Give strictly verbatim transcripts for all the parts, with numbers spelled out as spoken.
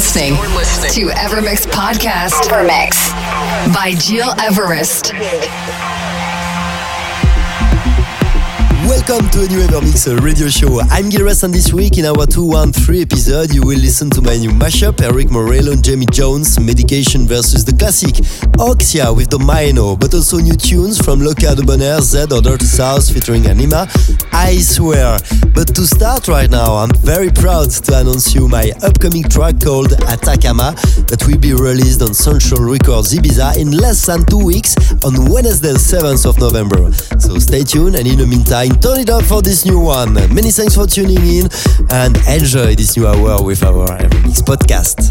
listening to Evermix Podcast. Evermix by Gil Everest. Welcome to a new Evermix radio show. I'm Gil Everest, and this week in our two one three episode you will listen to my new mashup, Eric Morello and Jamie Jones, Medication versus the classic Oxia with the Mino, but also new tunes from Loca de Bonheur, Z or Dirty South featuring Anima, I Swear. But to start right now, I'm very proud to announce you my upcoming track called Atacama that will be released on Central Records Ibiza in less than two weeks on Wednesday the seventh of November. So stay tuned, and in the meantime, turn it up for this new one. Many thanks for tuning in and enjoy this new hour with our Evermix podcast.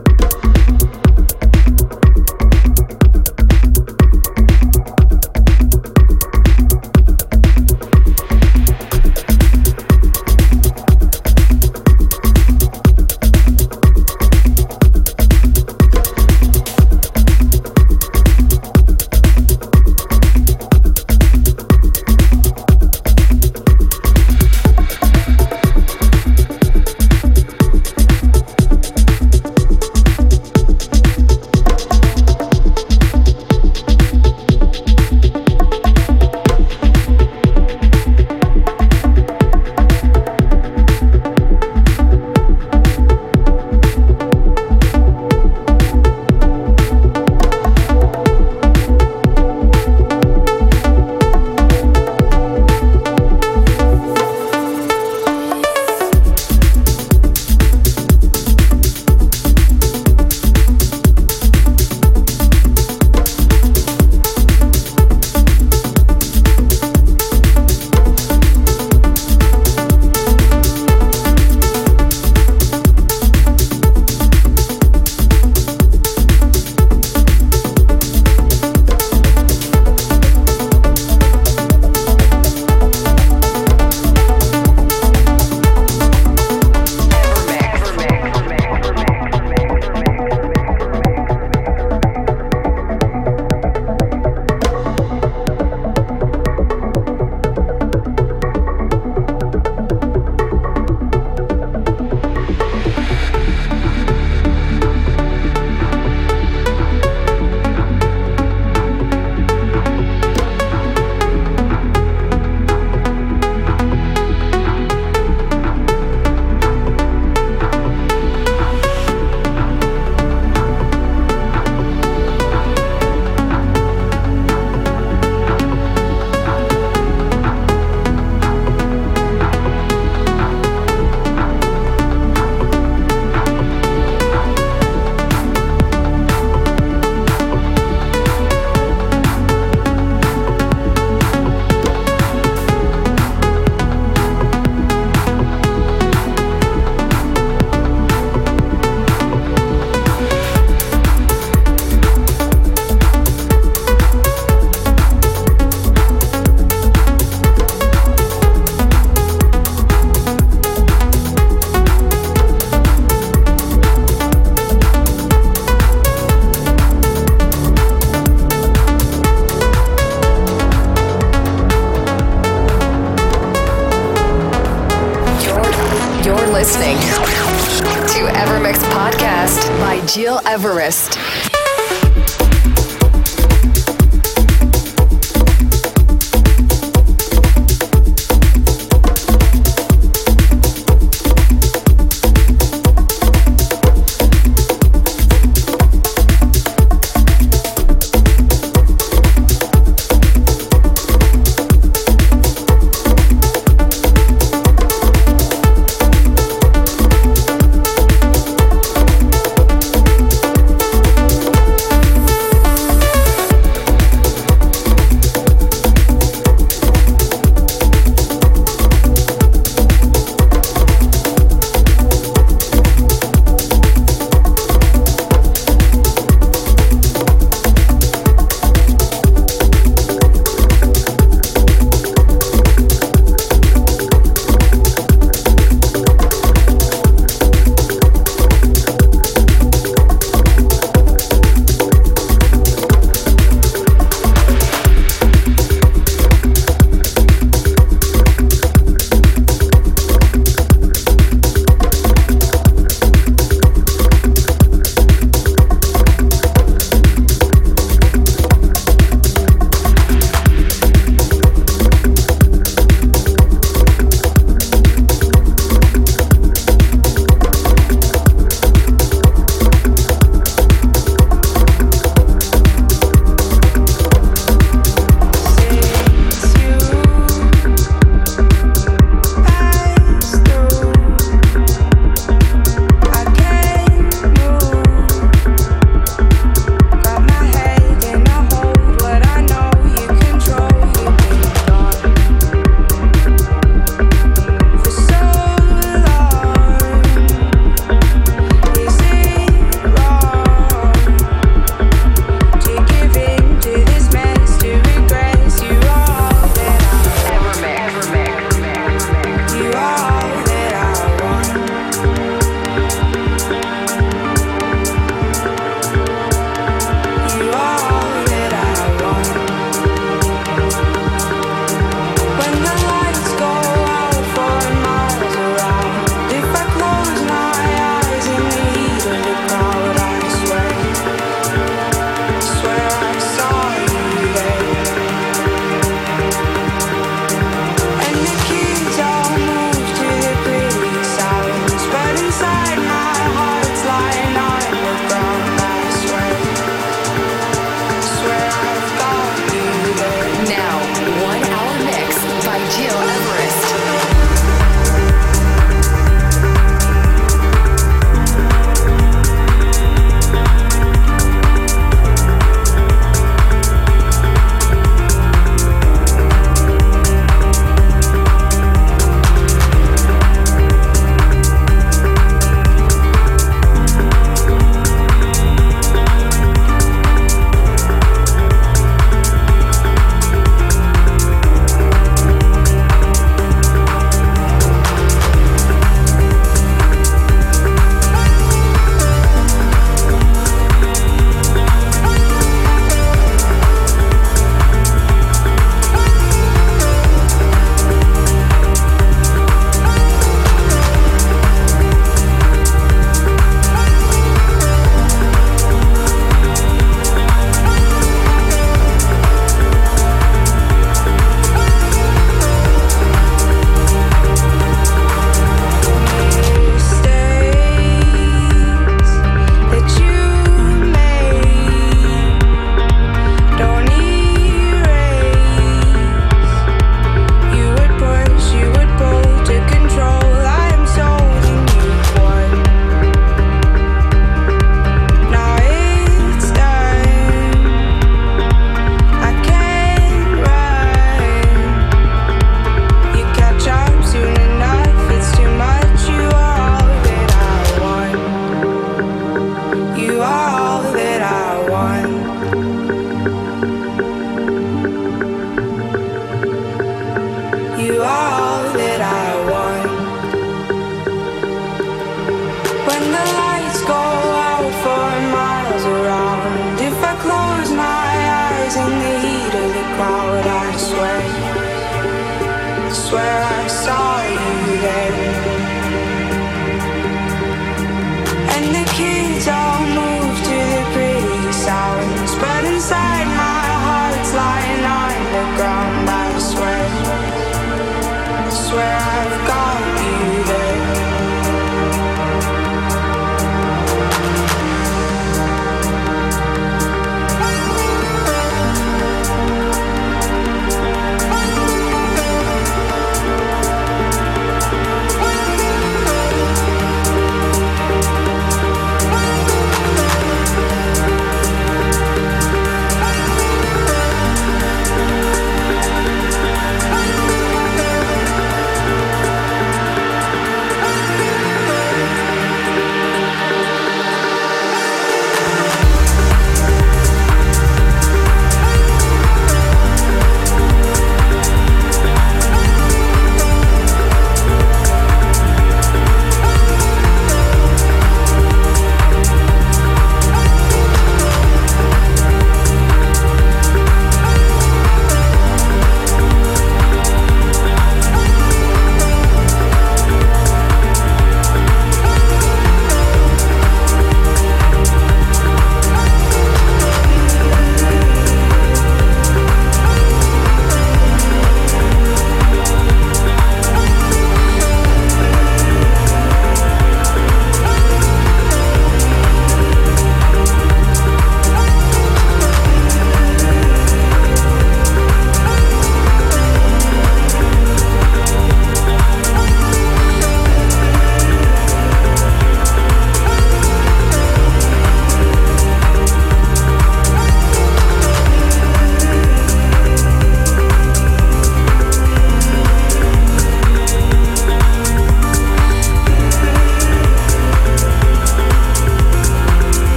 Gil Everest.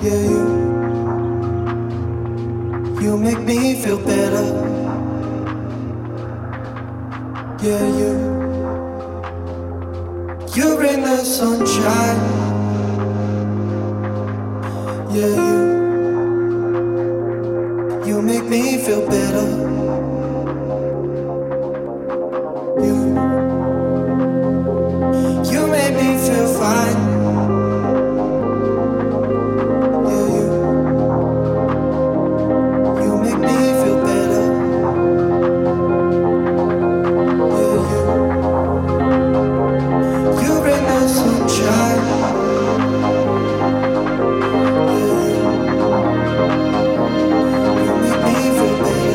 Yeah, you, you make me feel better. Yeah, you, you bring the sunshine. Yeah, you, you make me feel better. You, you make me feel fine. Baby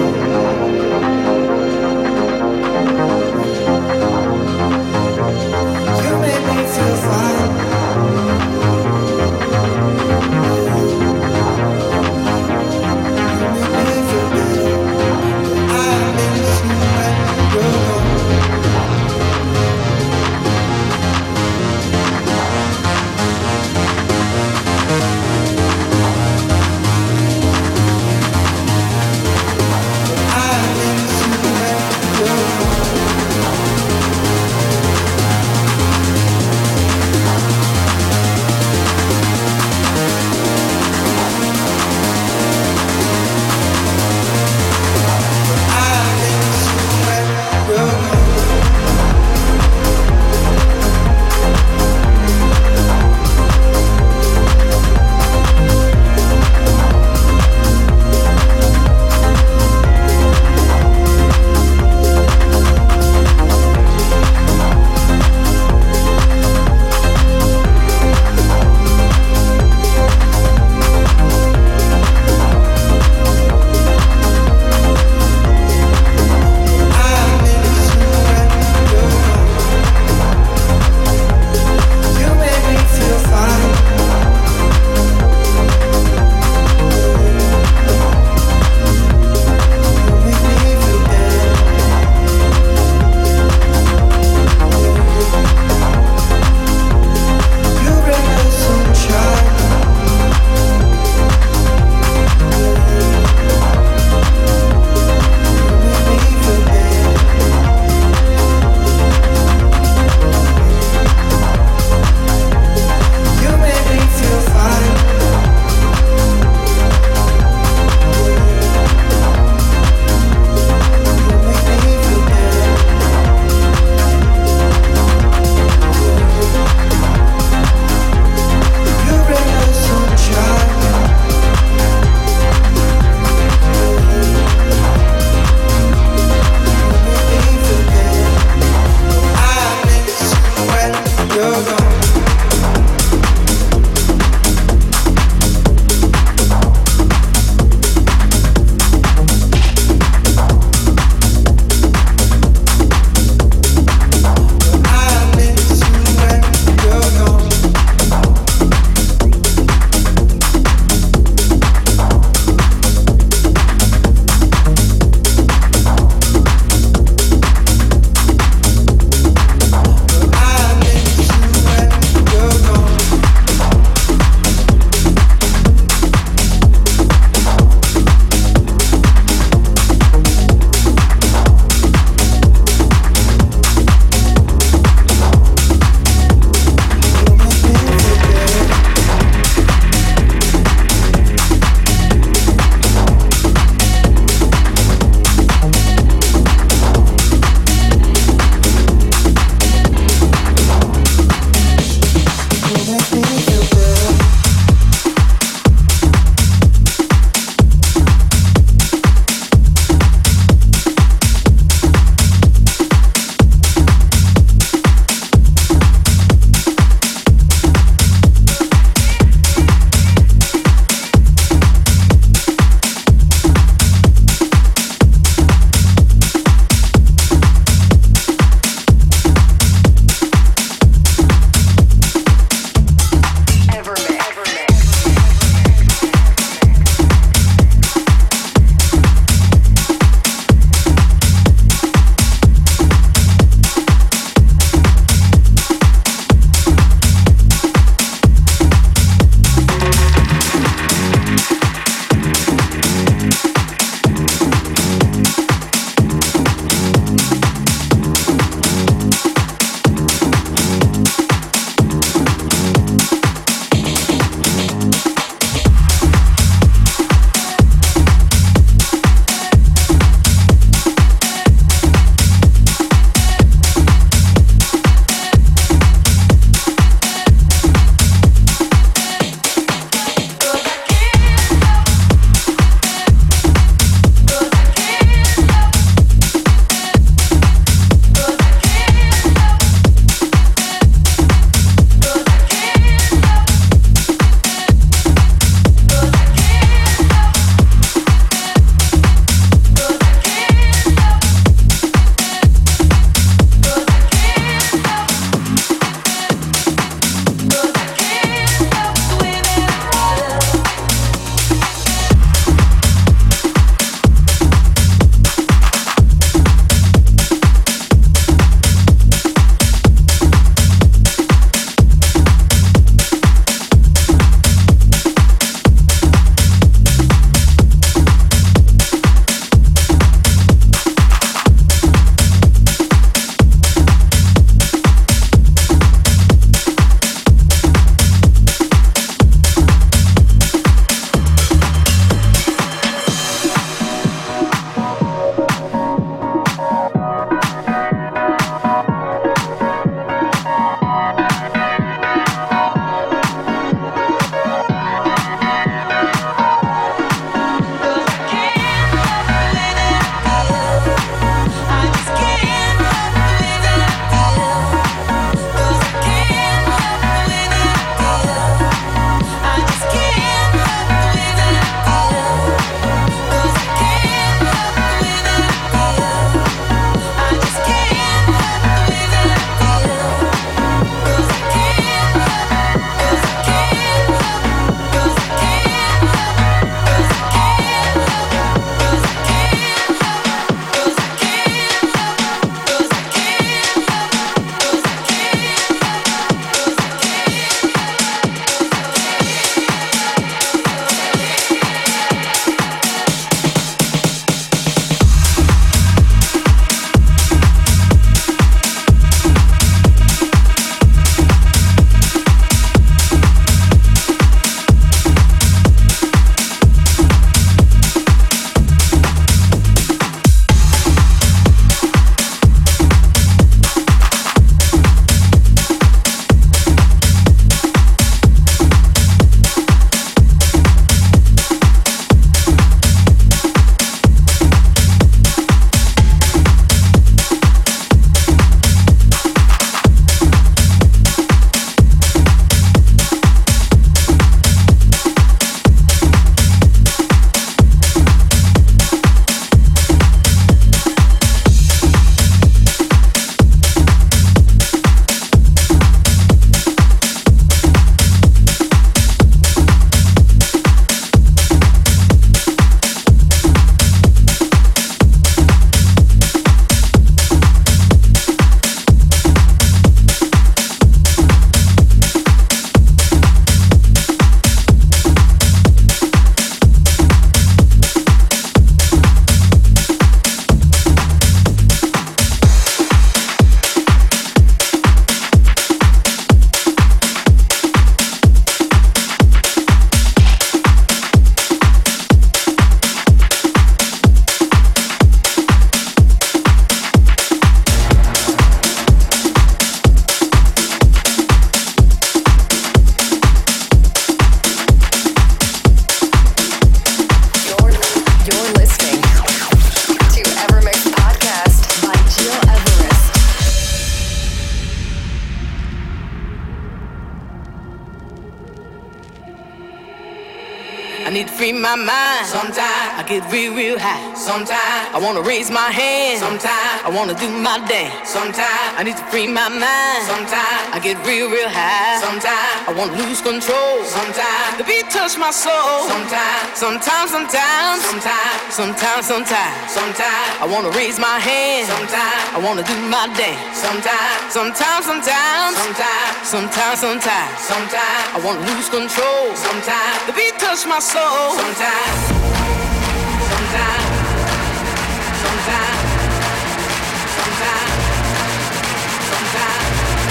I need to free my mind. Sometimes I get real, real high. Sometimes I wanna raise my hand. Sometimes I wanna do my dance. Sometimes I need to free my mind. Sometimes I get real, real high. Sometimes I wanna lose control. Sometimes the beat touch my soul. Sometimes, sometimes, sometimes, sometimes, sometimes, sometimes, sometimes I wanna raise my hand. Sometimes I wanna do my dance. Sometimes, sometimes, sometimes, sometimes, sometimes, sometimes, sometimes I wanna lose control. Sometimes the beat touch my soul. Sometimes, sometimes, sometimes, sometimes, sometimes,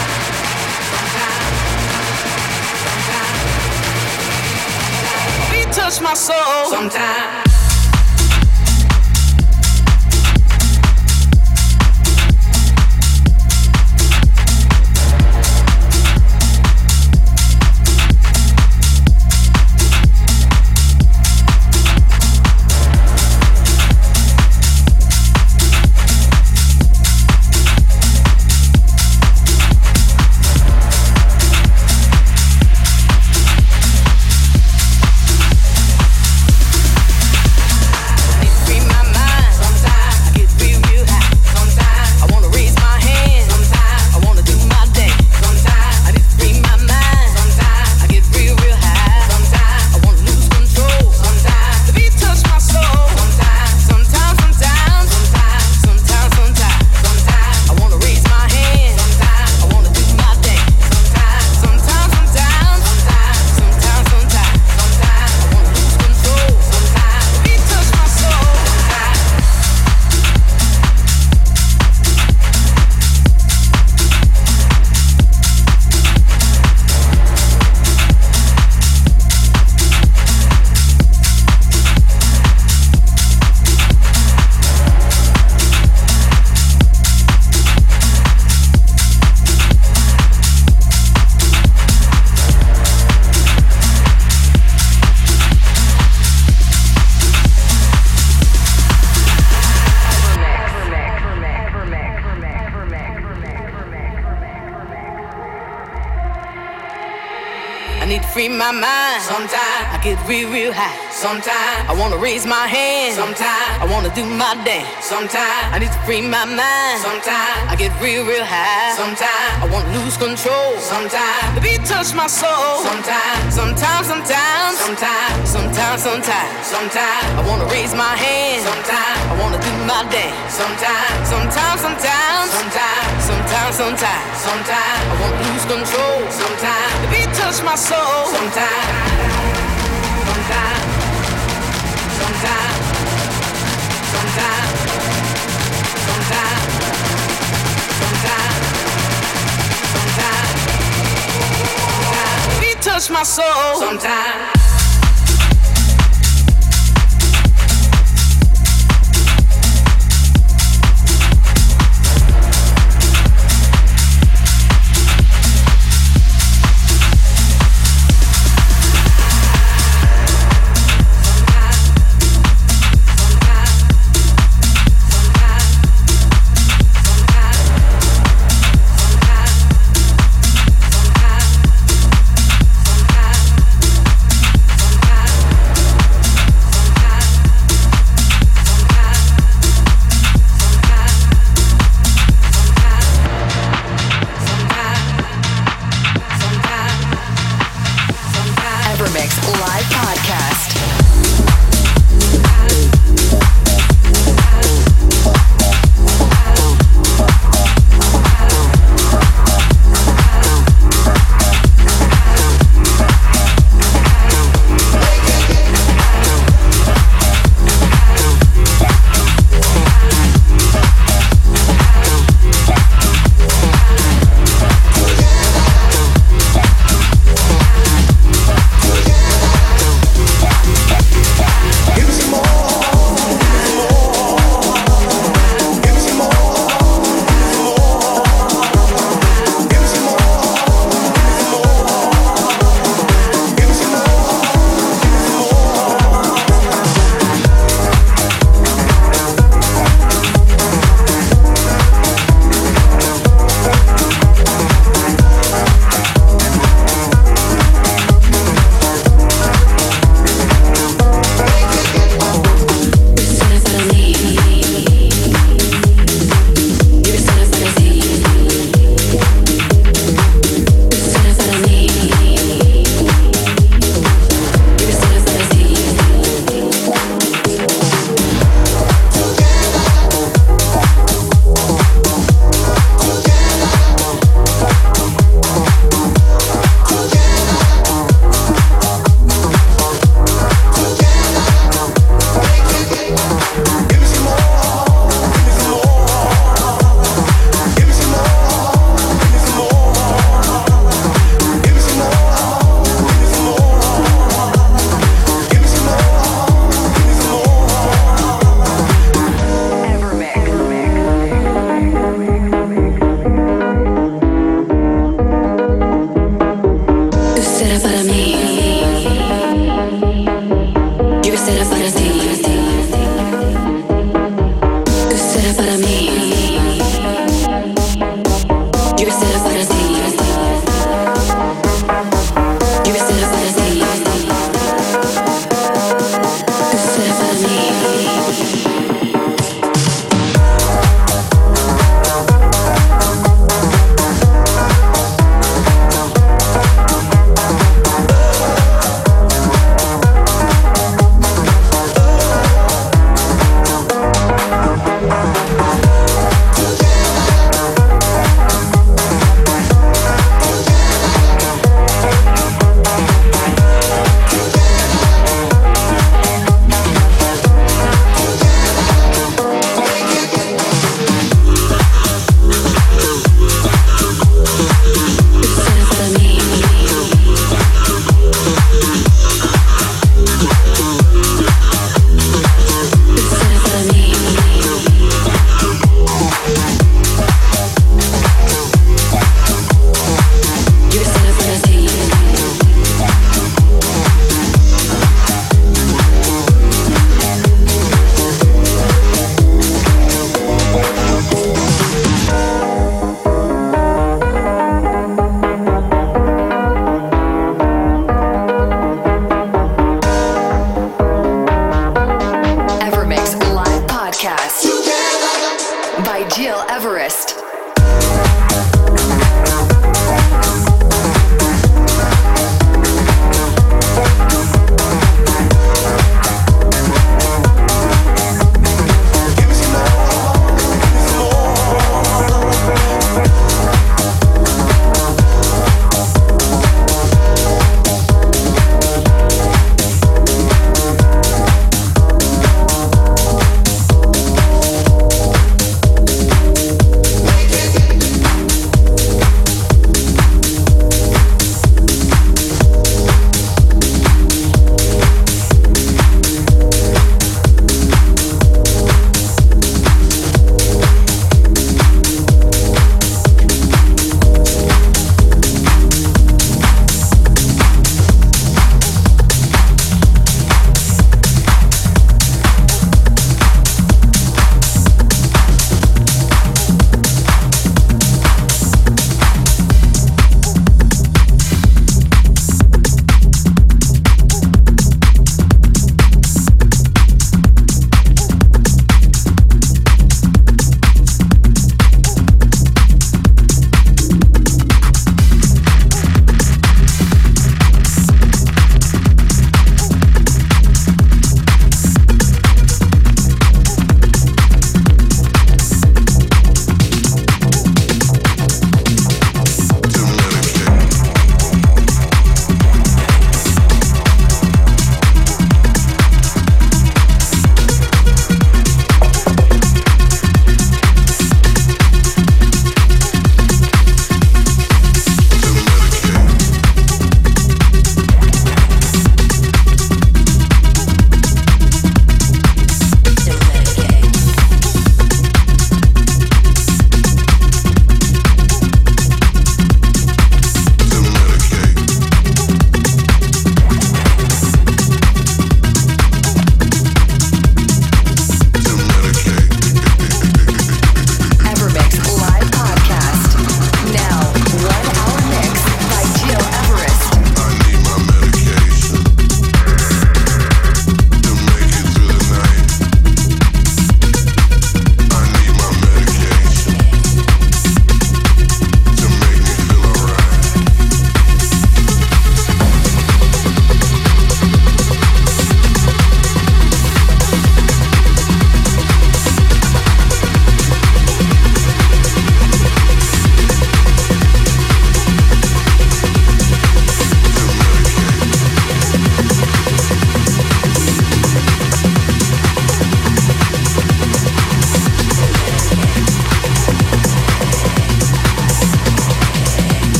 sometimes, the beat touch my soul. Sometimes. Free my mind. Sometimes I get real, real high. Sometimes I wanna raise my hand. Sometimes I wanna do my dance. Sometimes I need to free my mind. Sometimes I get real, real high. Sometimes I wanna lose control. Sometimes the beat touch my soul. Sometimes, sometimes, sometimes, sometimes, sometimes, sometimes, sometimes I wanna raise my hand. Sometimes I wanna do my dance. Sometimes, sometimes, sometimes, sometimes, sometimes, sometimes, sometimes I wanna lose control. Sometimes the beat touch my soul. Sometimes, sometimes, sometimes, sometimes, sometimes, sometimes, sometimes, sometimes, beat touch my soul. Sometimes.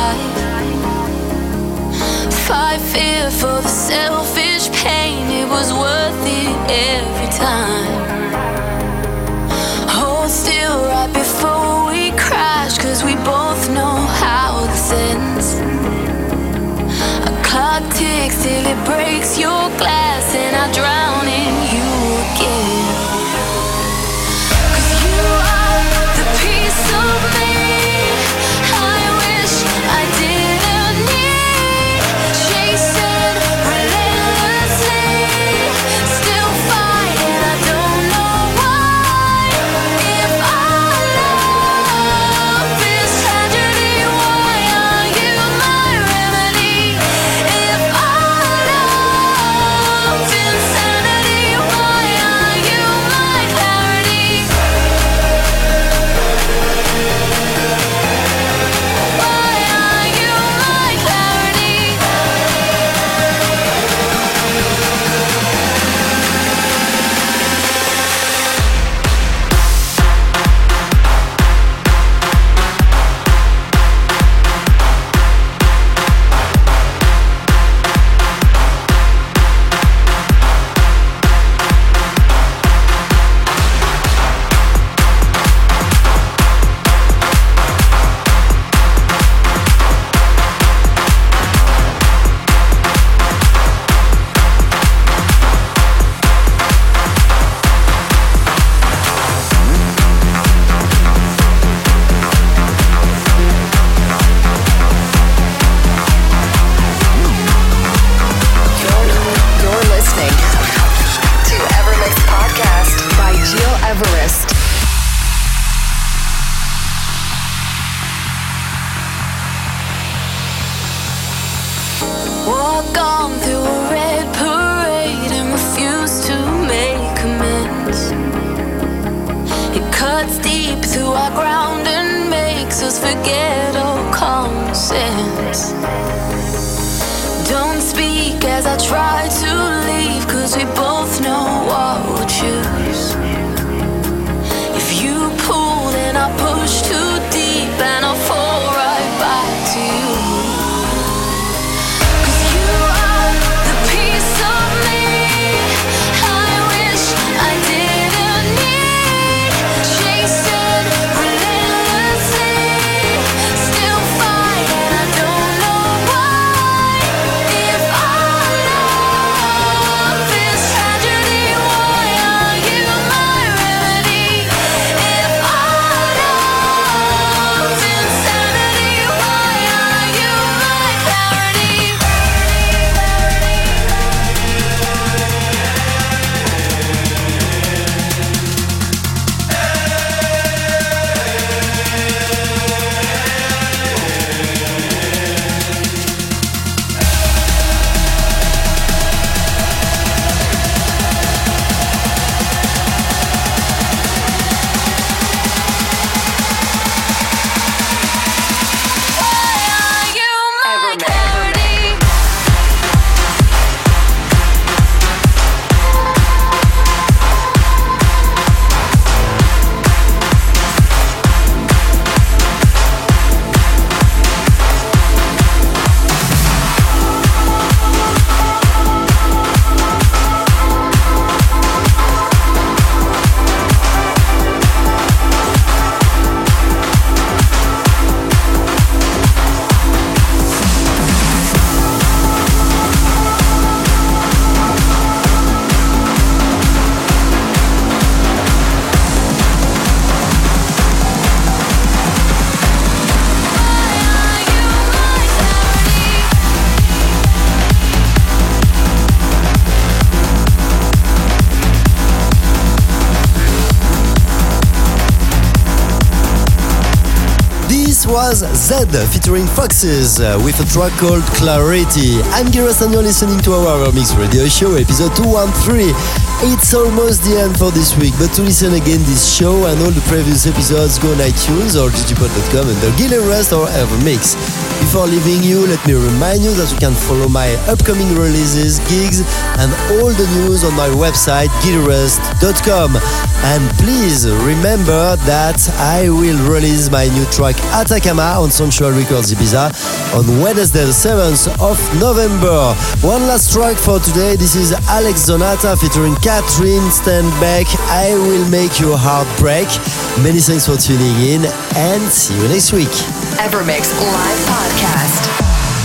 life. Fight fear for the selfish pain, it was worth it every time. Hold still right before we crash, cause we both know how this ends. A clock ticks till it breaks your glass, and I drown in you again. Cause you are the piece of me I wish I didn't need. Chasing relentlessly, still fighting, I don't know why. If our love is tragedy, why are you my remedy? If our love's insanity, why are you my clarity? Why are you my clarity? You're listening to Evermix Podcast by Jill Everest. Walk on through a red parade and refuse to make amends. It cuts deep through our ground and makes us forget all common sense. Don't speak as I try to leave, cause we both know what we'll choose. If you pull, then I push too deep and I'll fall right back to you. Cause you are the piece of me I wish I didn't need. Chasing relentlessly, still fighting, I don't know why. If our love is tragedy, why are you my remedy? If our love's insanity, why are you my clarity? Why are you my clarity? This was Zed featuring Foxes uh, with a track called Clarity. I'm Giras and you're listening to our Mix Radio Show, episode two thirteen. It's almost the end for this week, but to listen again this show and all the previous episodes, go on iTunes or digipod dot com under Gil Everest or Evermix. Before leaving you, let me remind you that you can follow my upcoming releases, gigs, and all the news on my website, gil everest dot com. And please remember that I will release my new track Attack Nakama on Sensual Records Ibiza on Wednesday the seventh of November. One last track for today. This is Alex Zonata featuring Catherine Stand Back. I Will Make Your Heart Break. Many thanks for tuning in and see you next week. Evermix Live Podcast.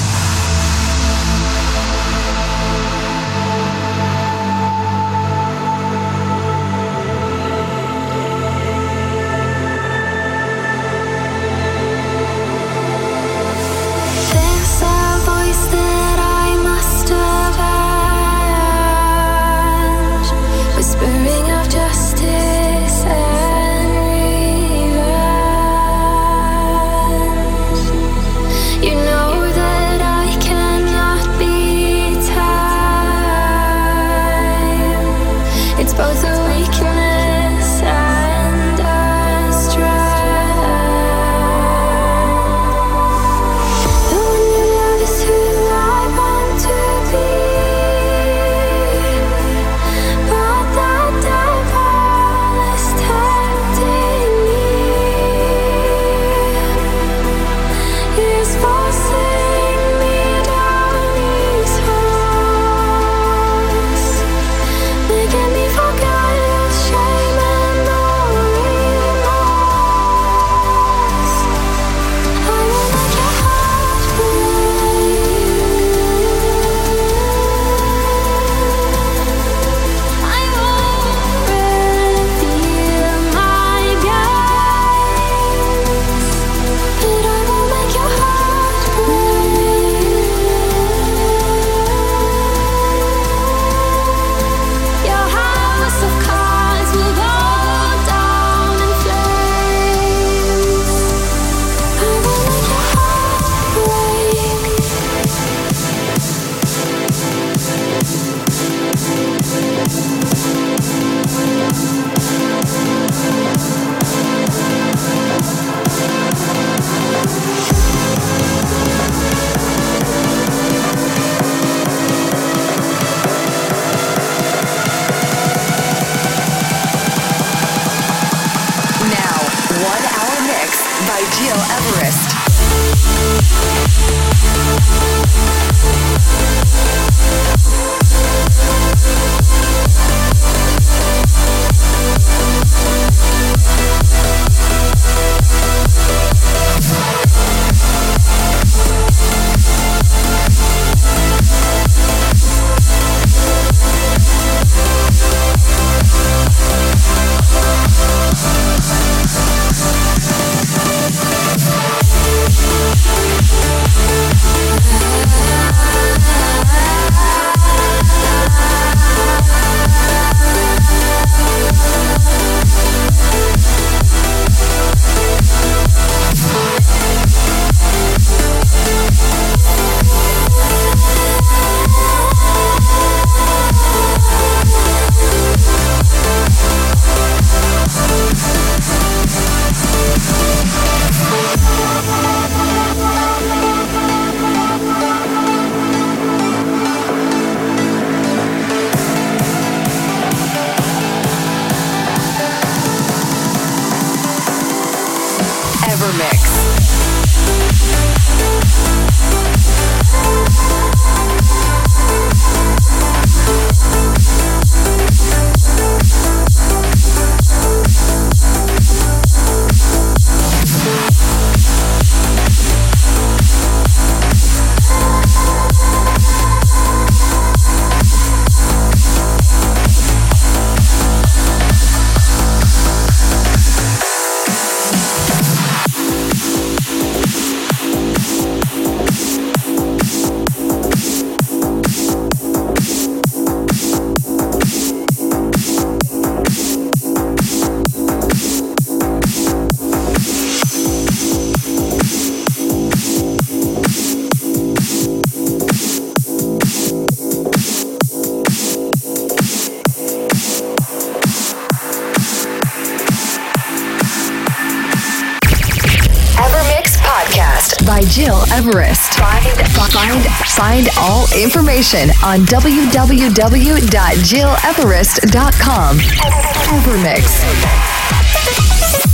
by Gil Everest. Find, find, find all information on w w w dot gil everest dot com. Evermix.